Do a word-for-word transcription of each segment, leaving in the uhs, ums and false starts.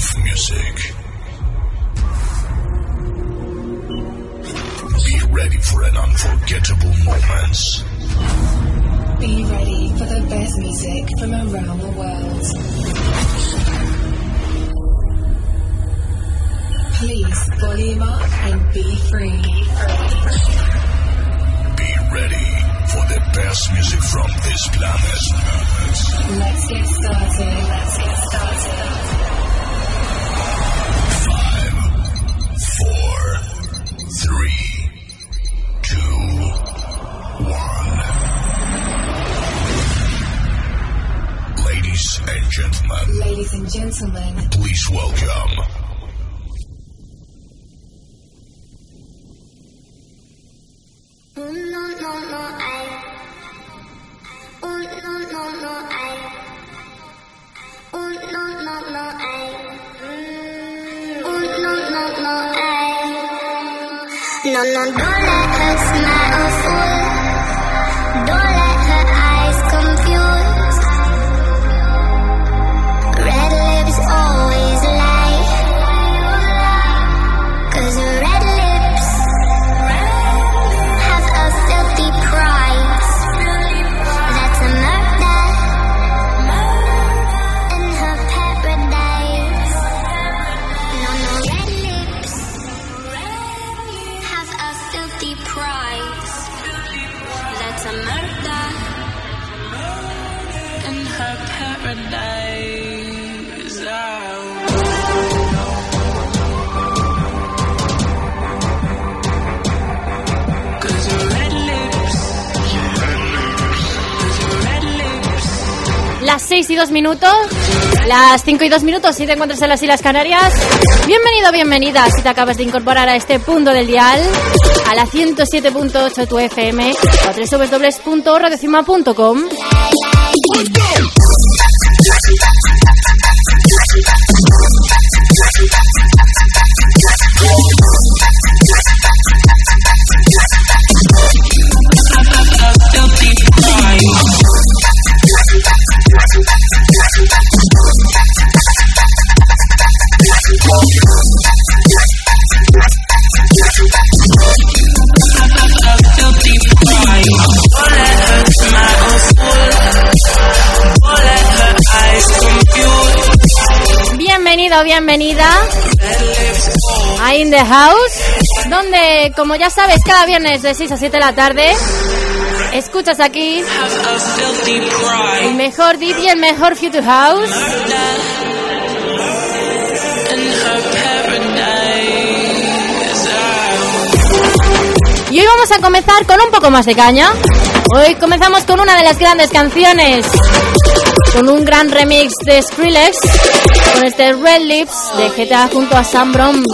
of music. Be ready for an unforgettable moments. Be ready for the best music from around the world. Please volume up and be free. Be ready for the best music from this planet. Let's get started. Let's get started. Five, four, three, two, one. Ladies and gentlemen. Ladies and gentlemen. Please welcome. Oh no no no I Oh no no no I Oh no no no I Oh no no no I No no don't let her smile fool Don't let her eyes confuse Red lips always lie Cause red lips have a filthy price. That's a murder in her paradise. No, no, red lips have a filthy price. That's a murder in her paradise. Oh. Las seis y dos minutos, las cinco y dos minutos si te encuentras en las Islas Canarias. Bienvenido, bienvenida si te acabas de incorporar a este punto del dial, a la ciento siete punto ocho tu F M o a doble u doble u doble u punto radio cima punto com. Bienvenido, bienvenida a In The House, donde, como ya sabes, cada viernes de seis a siete de la tarde escuchas aquí el mejor deep y el mejor future house. Y hoy vamos a comenzar con un poco más de caña. Hoy comenzamos con una de las grandes canciones, con un gran remix de Skrillex, con este Red Lips de G T A junto a Sam Brown.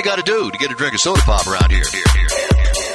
got to do to get a drink of soda pop around here. Here, here, here.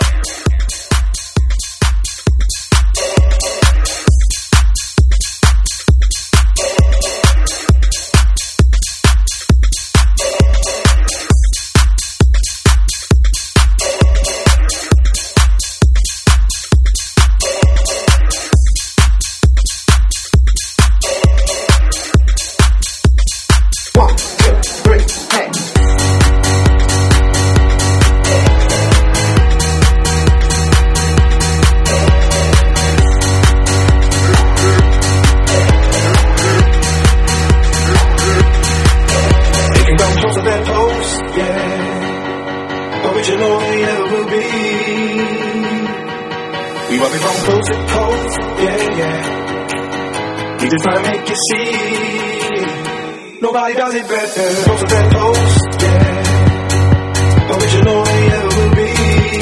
Nobody does it better. Closer than close, yeah. Original ain't ever will be.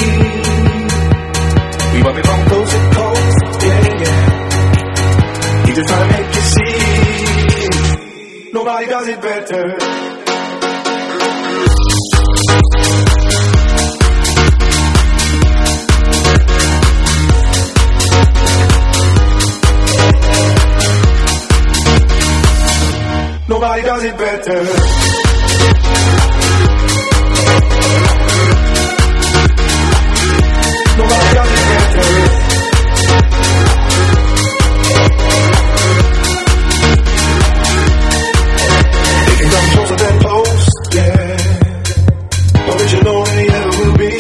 We might be from coast to coast, yeah, yeah. He just trying to make you see. Nobody does it better. Nobody does it better. Nobody does it better. They can come closer than close, yeah. Original ain't ever will be.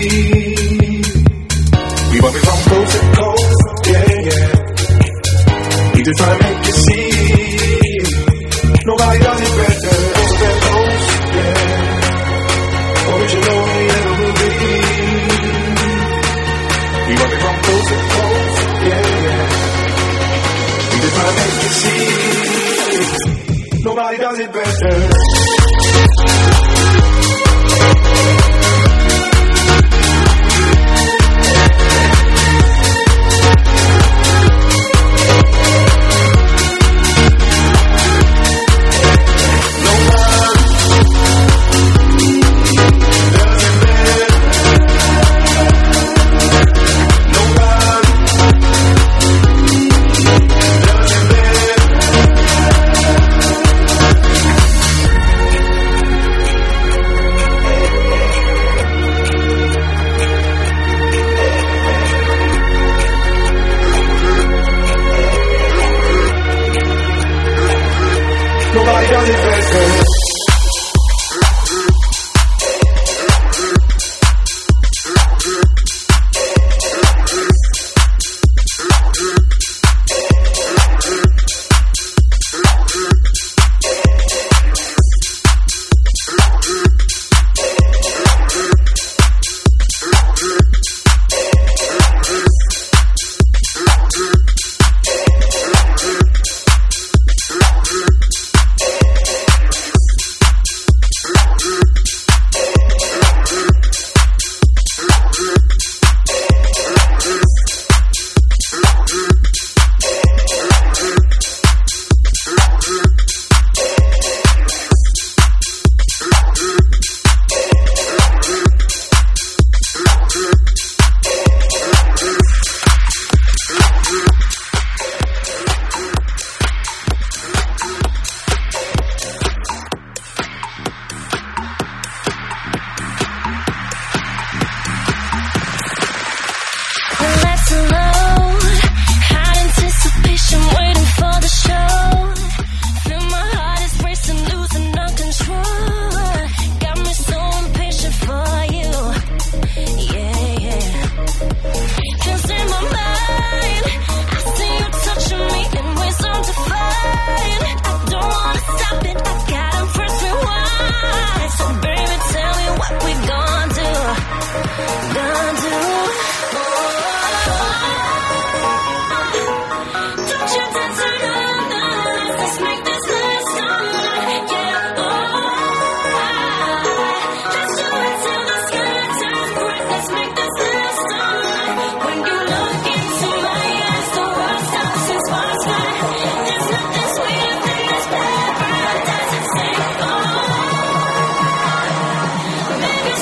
We might be from coast to coast, yeah, yeah. We just try to make you see. Nobody does it better. Closer than close, yeah. Original ain't ever will be. We might be from coast to coast, yeah, yeah. We just try to make you see. Nobody does it better. Nobody does it better. Baby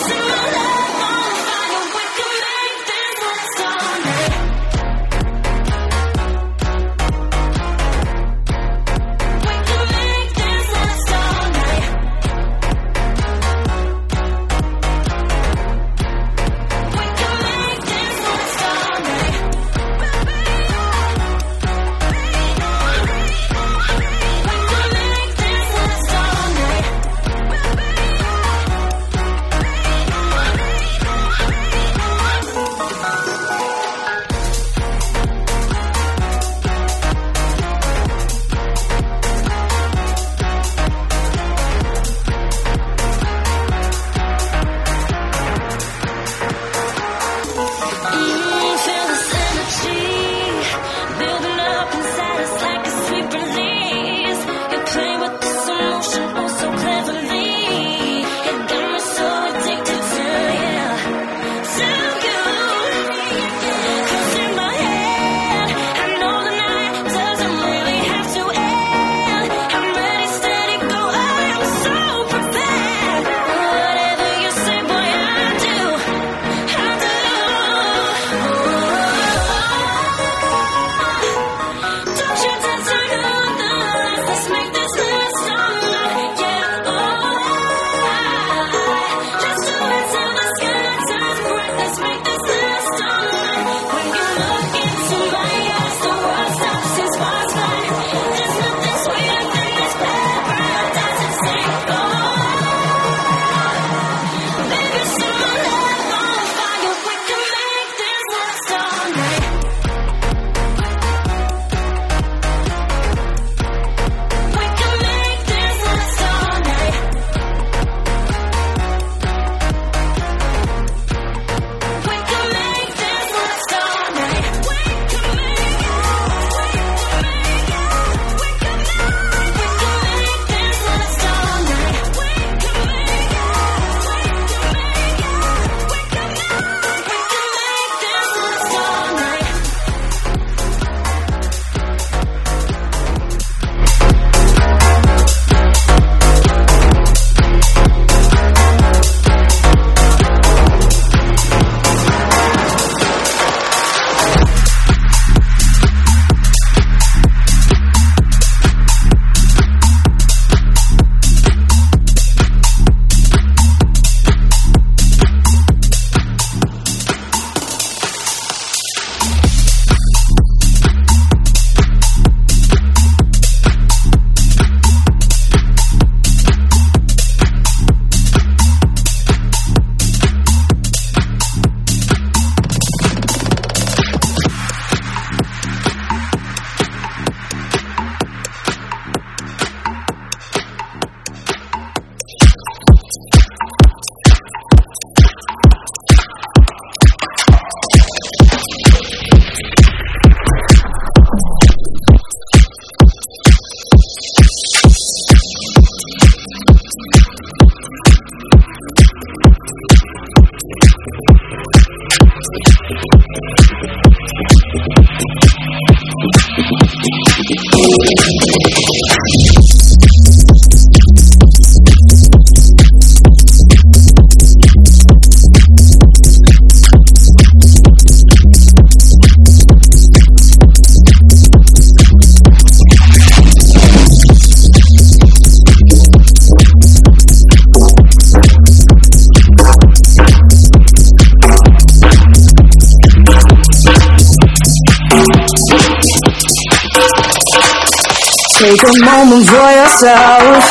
Take a moment for yourself.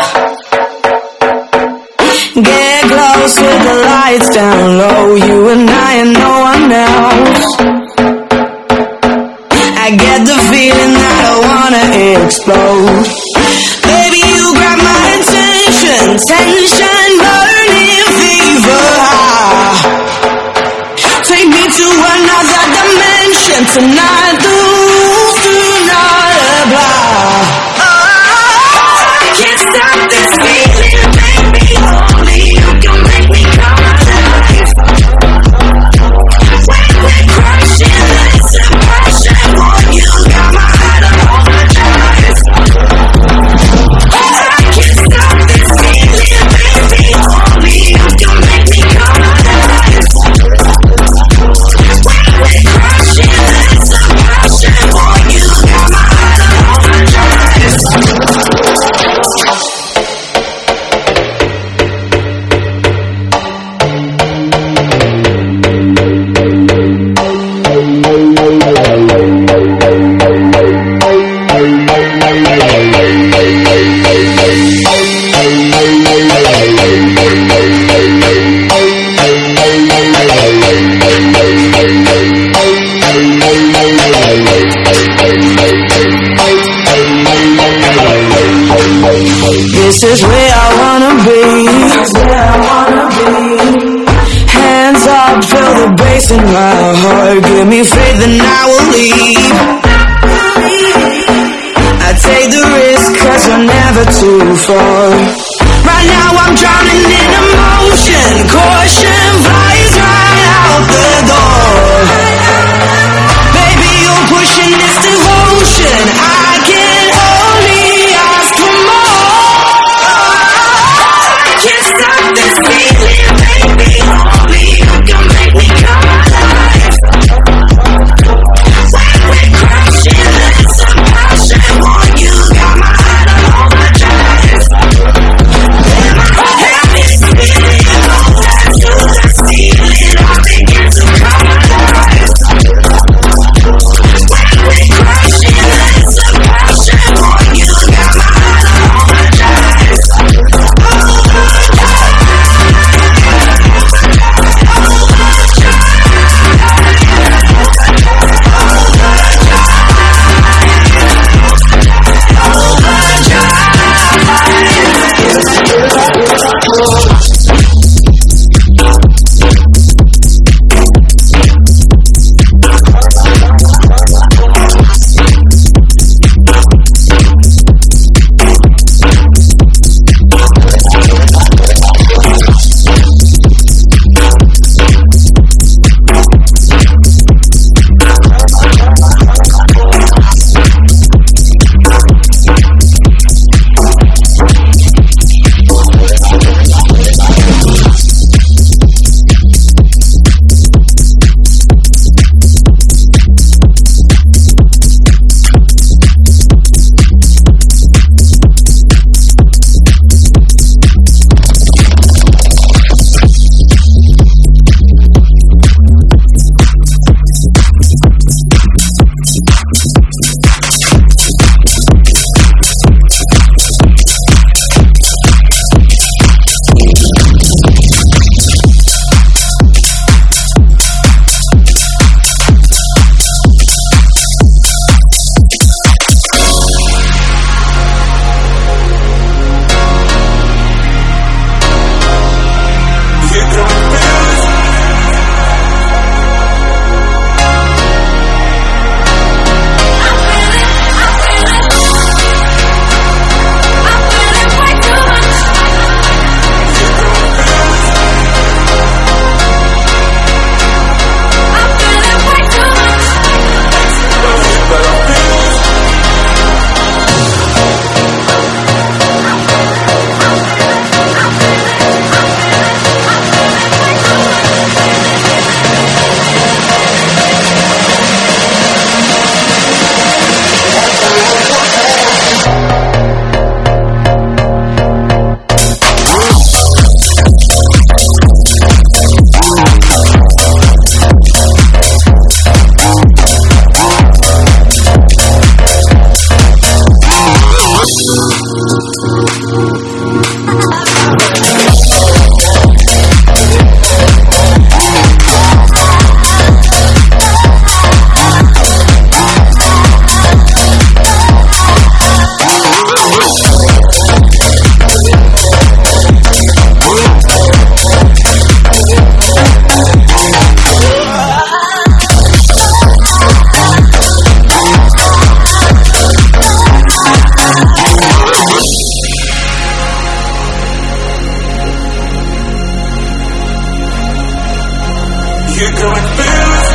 Get close with the lights down low. You and I and no one else. I get the feeling that I wanna explode. Baby, you grab my attention. Tension, burning fever high. Take me to another dimension. Tonight the rules do not apply. I can't stop this feeling, baby. Only you can make me come alive. When we're crashing, it's a passion. Boy, you got my heart on overdrive. I can't stop this feeling, baby. Only you can make me come alive. When we're crashing, it's a passion. Boy, you got my heart on overdrive. This is where I wanna be. Where I wanna be. Hands up, feel the bass in my heart. Give me faith and I will leave. I take the risk cause you're never too far. Right now I'm drowning in emotion. Caution flies right out the door. Baby, you're pushing this devotion. I can only ask for more. I can't stop this feeling, baby. Only you can make me come alive. When we're crashing, it's a passion. Boy, you got my heart on overdrive. And my head is spinning, no time to You can feel it.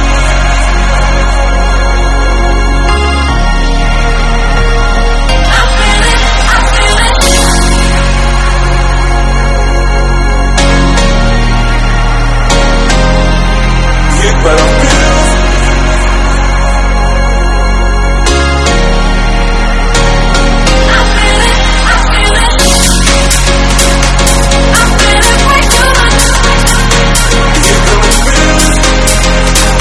But I'm feels. I feel it, I feel it. I feel it way too much. You can feel it.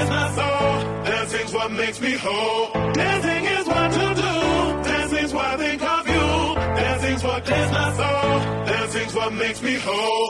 clears my soul. Dancing's what makes me whole. Dancing is what to do. Dancing's what I think of you. Dancing's what clears my soul. Dancing's what makes me whole.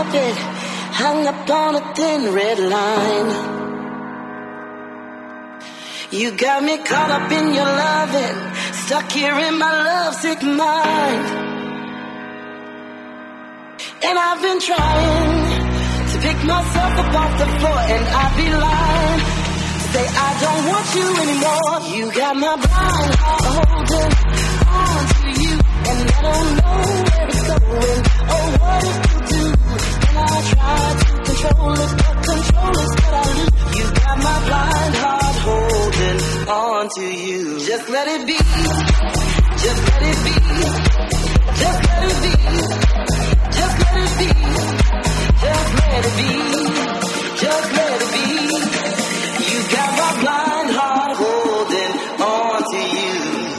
carpet, hung up on a thin red line. You got me caught up in your loving, stuck here in my lovesick mind. And I've been trying to pick myself up off the floor, and I'd be lying to say I don't want you anymore. You got my blind heart holding on to you, and I don't know where it's going or what it will do. And I try to control it, but control is what I lose. You got my blind heart holding on to you. Just let it be, just let it be, just let it be, just let it be, just let it be, just let it be. You got my blind heart holding on to you.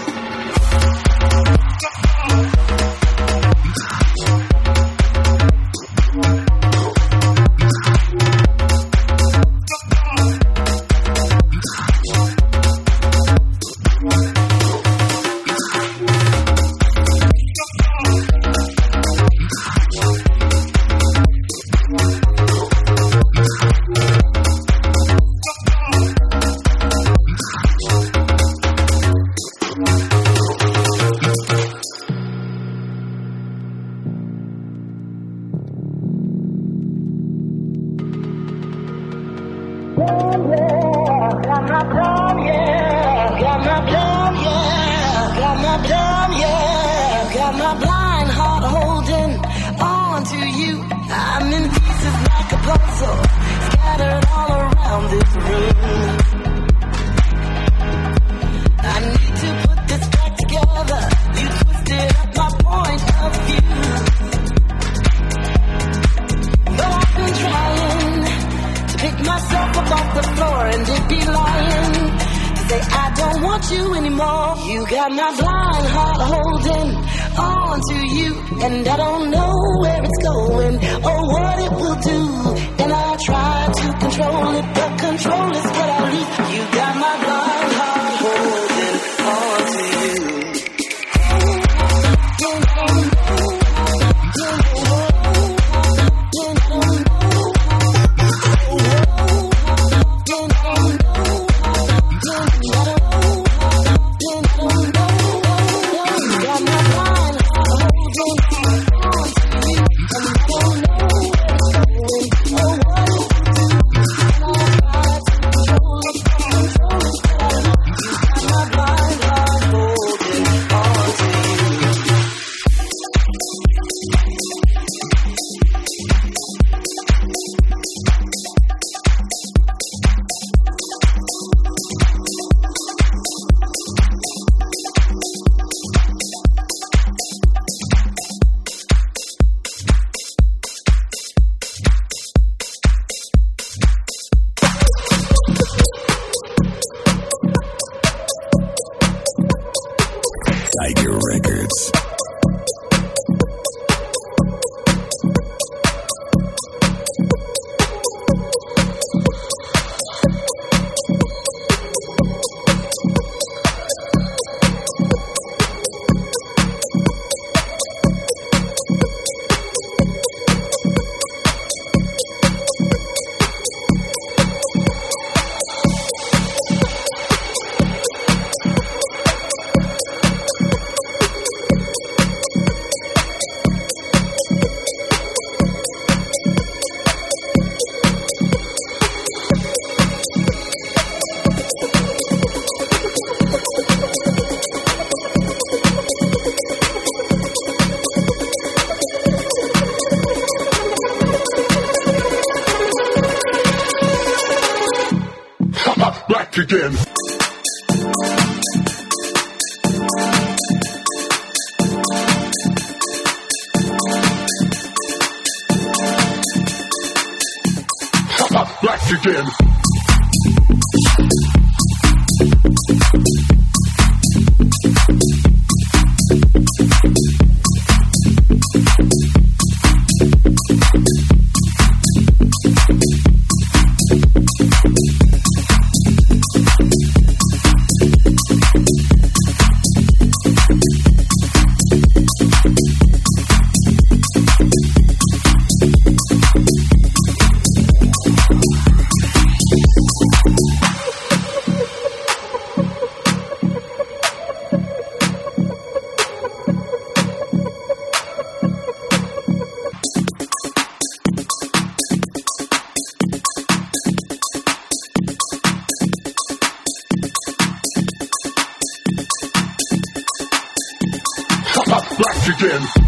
Again. Black again. again.